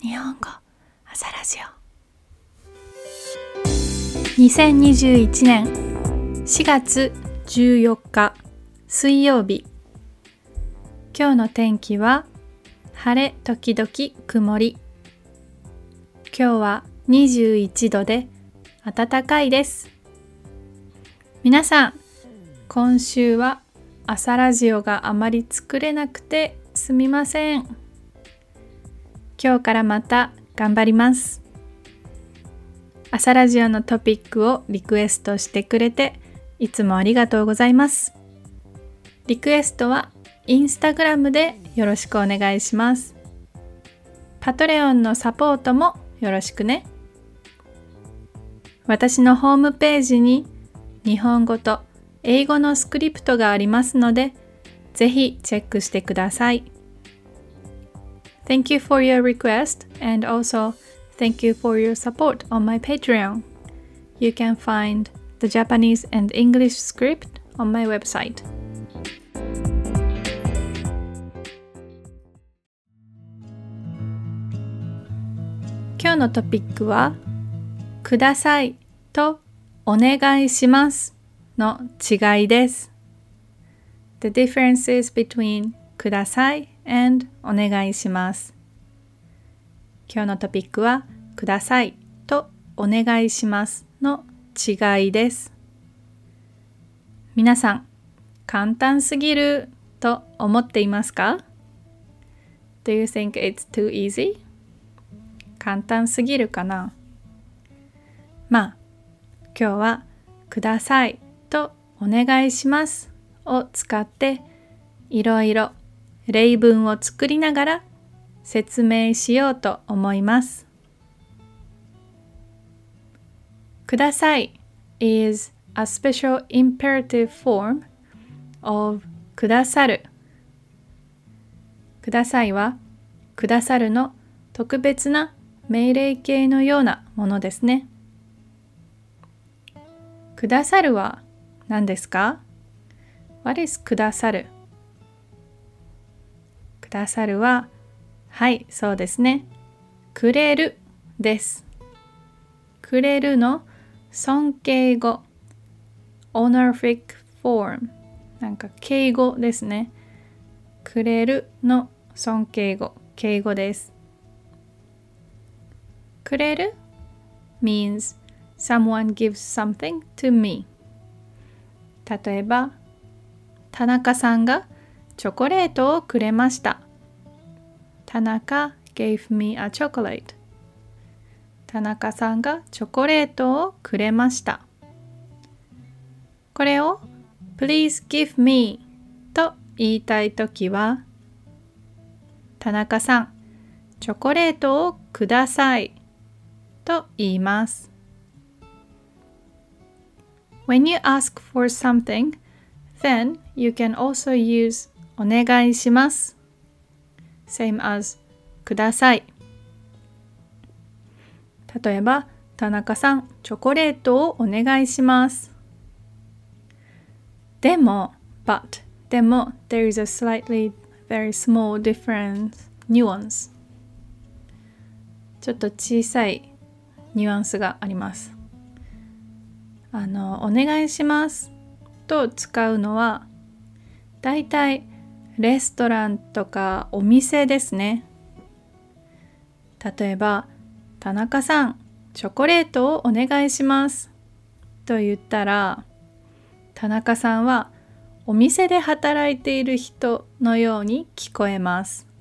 日本語朝ラジオ2021年4月14日水曜日。今日の天気は晴れ時々曇り。今日は21度で暖かいです。皆さん、今週は朝ラジオがあまり作れなくてすみません。今日からまた頑張ります。朝ラジオのトピックをリクエストしてくれていつもありがとうございます。リクエストはインスタグラムでよろしくお願いします。パトレオンのサポートもよろしくね。私のホームページに日本語と英語のスクリプトがありますので、ぜひチェックしてください。Thank you for your request and also thank you for your support on my Patreon. You can find the Japanese and English script on my website. 今日のトピックはくださいとお願いしますの違いです。The differences between ください and お願いします。今日のトピックはくださいとお願いしますの違いです。皆さん、簡単すぎると思っていますか？ Do you think it's too easy? 簡単すぎるかな？まあ、今日はくださいとお願いしますを使っていろいろ例文を作りながら説明しようと思います。ください is a special imperative form of くださる。くださいはくださるの特別な命令形のようなものですね。くださるは何ですか？ What is くださる？くださるは、はい、そうですね。くれるです。くれるの尊敬語 honorific form なんか敬語ですね。くれるの尊敬語、敬語です。くれる means someone gives something to me。 例えば、田中さんがチョコレートをくれました。田中 gave me a chocolate。 田中さんがチョコレートをくれました。これを Please give me と言いたいときは、田中さん、チョコレートをくださいと言います。When you ask for something, then you can also use お願いします。Same as ください。例えば、田中さん、チョコレートをお願いします。でも、there is a slightly very small difference, nuance。ちょっと小さいニュアンスがあります。お願いしますと使うのは、だいたいレストランとかお店ですね。例えば、田中さん、チョコレートをお願いしますと言ったら、田中さんはお店で働いている人のように聞こえます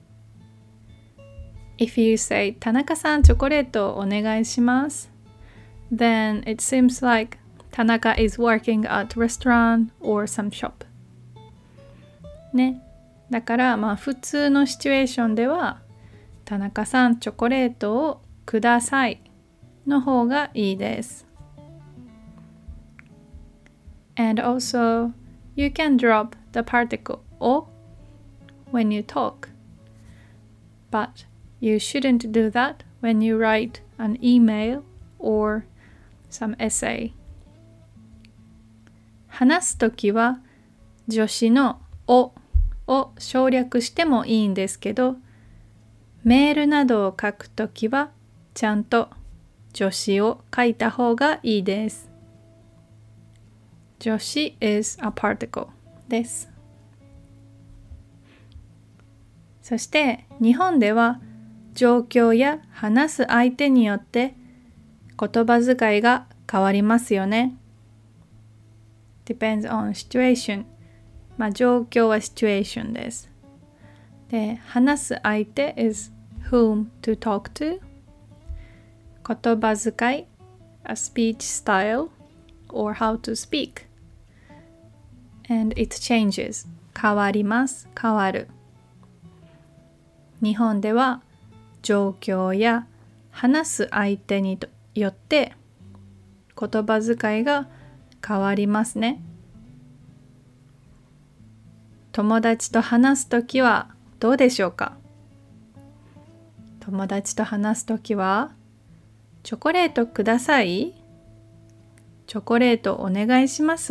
。If you say 田中さん、チョコレートをお願いします、then it seems like 田中 is working at restaurant or some shop。ね。だから普通のシチュエーションでは田中さんチョコレートをくださいの方がいいです。And also you can drop the particle o when you talk, but you shouldn't do that when you write an email or some essay。 話すときは助詞のおを省略してもいいんですけど、 メールなどを書くときはちゃんと助詞を書いた方がいいです。助詞 is a particle です。そして日本では状況や話す相手によって言葉遣いが変わりますよね。Depends on situation。状況は situation です。で、話す相手 is whom to talk to。言葉遣い a speech style or how to speak。And it changes。変わります。変わる。日本では状況や話す相手によって言葉遣いが変わりますね。友達と話すときはどうでしょうか？友達と話すときはチョコレートください？チョコレートお願いします？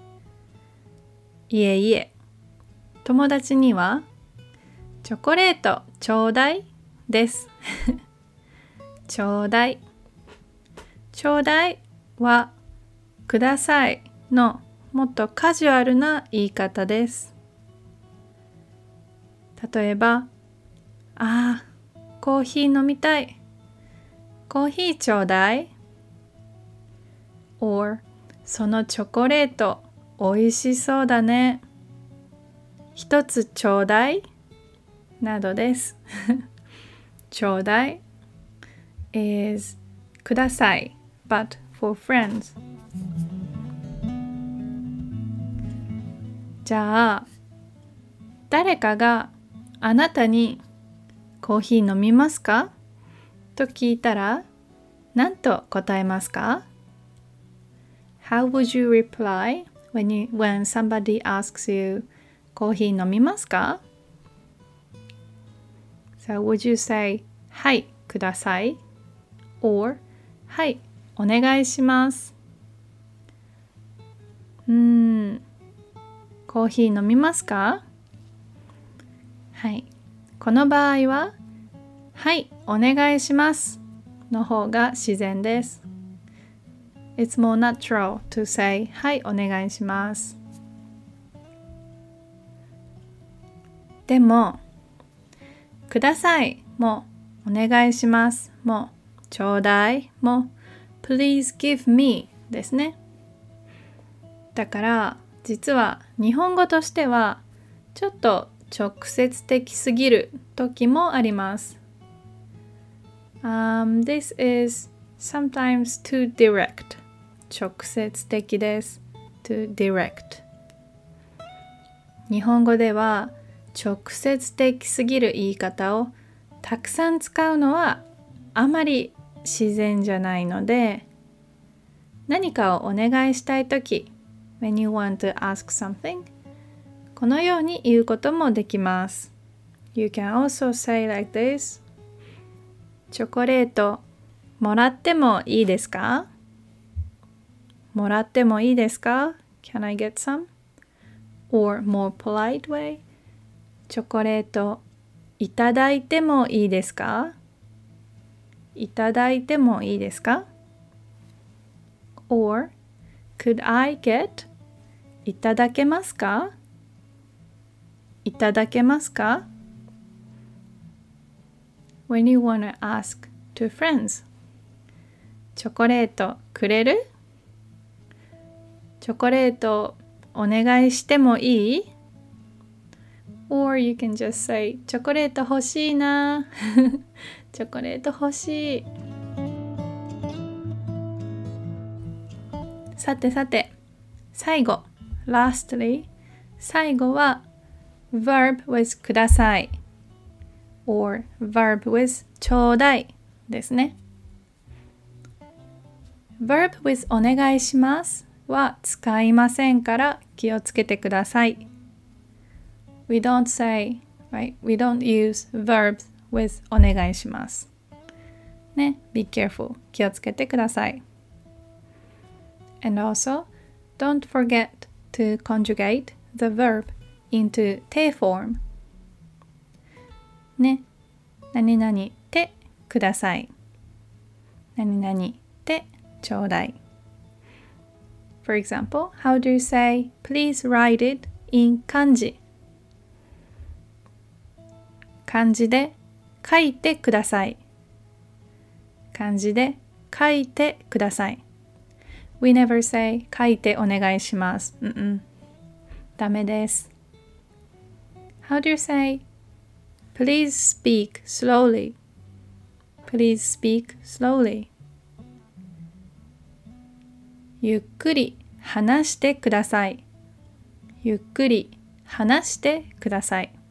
いえいえ、友達にはチョコレートちょうだいですちょうだい。ちょうだいはくださいのもっとカジュアルな言い方です。例えば、コーヒー飲みたい。コーヒーちょうだい。or そのチョコレートおいしそうだね。一つちょうだいなどです。ちょうだい is ください but for friends。 じゃあ誰かがあなたにコーヒー飲みますかと聞いたら何と答えますか？ How would you reply when somebody asks you コーヒー飲みますか？ So would you say はいください or はいお願いします。コーヒー飲みますか？はい。この場合ははいお願いしますの方が自然です。It's more natural to say はいお願いします。でもくださいもお願いしますもちょうだいも Please give me ですね。だから実は日本語としてはちょっと直接的すぎる時もあります。This is sometimes too direct。直接的です。too direct。日本語では直接的すぎる言い方をたくさん使うのはあまり自然じゃないので、何かをお願いしたいとき、when you want to ask something、このように言うこともできます。You can also say like this。 チョコレートもらってもいいですか？もらってもいいですか？ Can I get some? Or more polite way、 チョコレートいただいてもいいですか？いただいてもいいですか？ Or could I get いただけますか？いただけますか？ When you want to ask to friends、 チョコレートくれる？チョコレートお願いしてもいい？ Or you can just say チョコレート欲しいなチョコレート欲しい。さてさて最後 lastly 最後はverb with ください or verb with ちょうだいですね。verb with お願いしますは使いませんから気をつけてください。We don't say, right? We don't use verbs with お願いします。ね、be careful 気をつけてください。And also, don't forget to conjugate the verb into te form。ね、 何々てください。何々てちょうだい。For example, how do you say, please write it in 漢字？漢字で書いてください。漢字で書いてください。We never say 書いてお願いします。ダメです。How do you say, please speak slowly? Please speak slowly. ゆっくり話してください。ゆっくり話してください。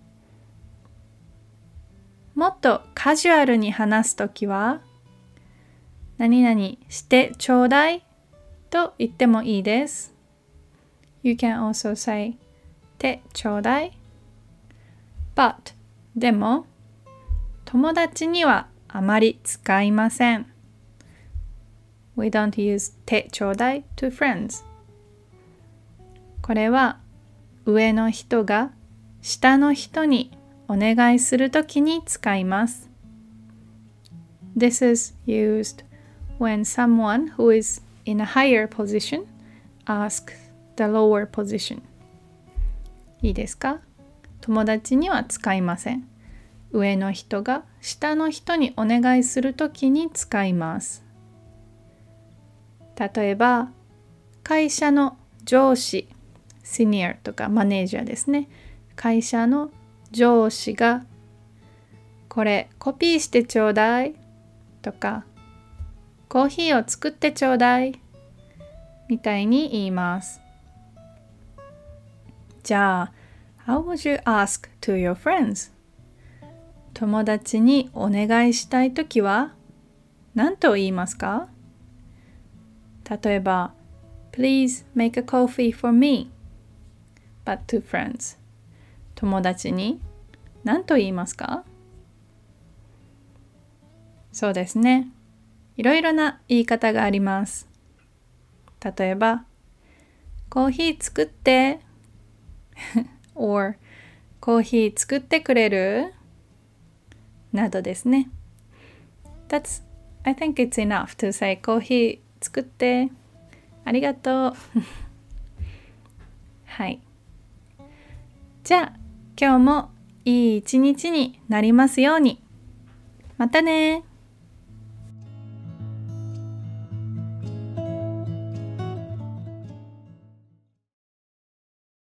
もっとカジュアルに話すときは、何々してちょうだいと言ってもいいです。You can also say てちょうだい。But でも友達にはあまり使いません。We don't use てちょうだい to friends. これは上の人が下の人にお願いするときに使います。This is used when someone who is in a higher position asks the lower position. いいですか？友達には使いません。上の人が下の人にお願いするときに使います。例えば、会社の上司、シニアとかマネージャーですね。会社の上司がこれコピーしてちょうだいとかコーヒーを作ってちょうだいみたいに言います。じゃあ、How would you ask to your friends? 友達にお願いしたいときは何と言いますか？例えば、Please make a coffee for me. But to friends. 友達に何と言いますか？そうですね。いろいろな言い方があります。例えば、コーヒー作って。or コーヒー作ってくれる？などですね。I think it's enough to say コーヒー作って。ありがとう。はい。じゃあ、今日もいい一日になりますように。またね。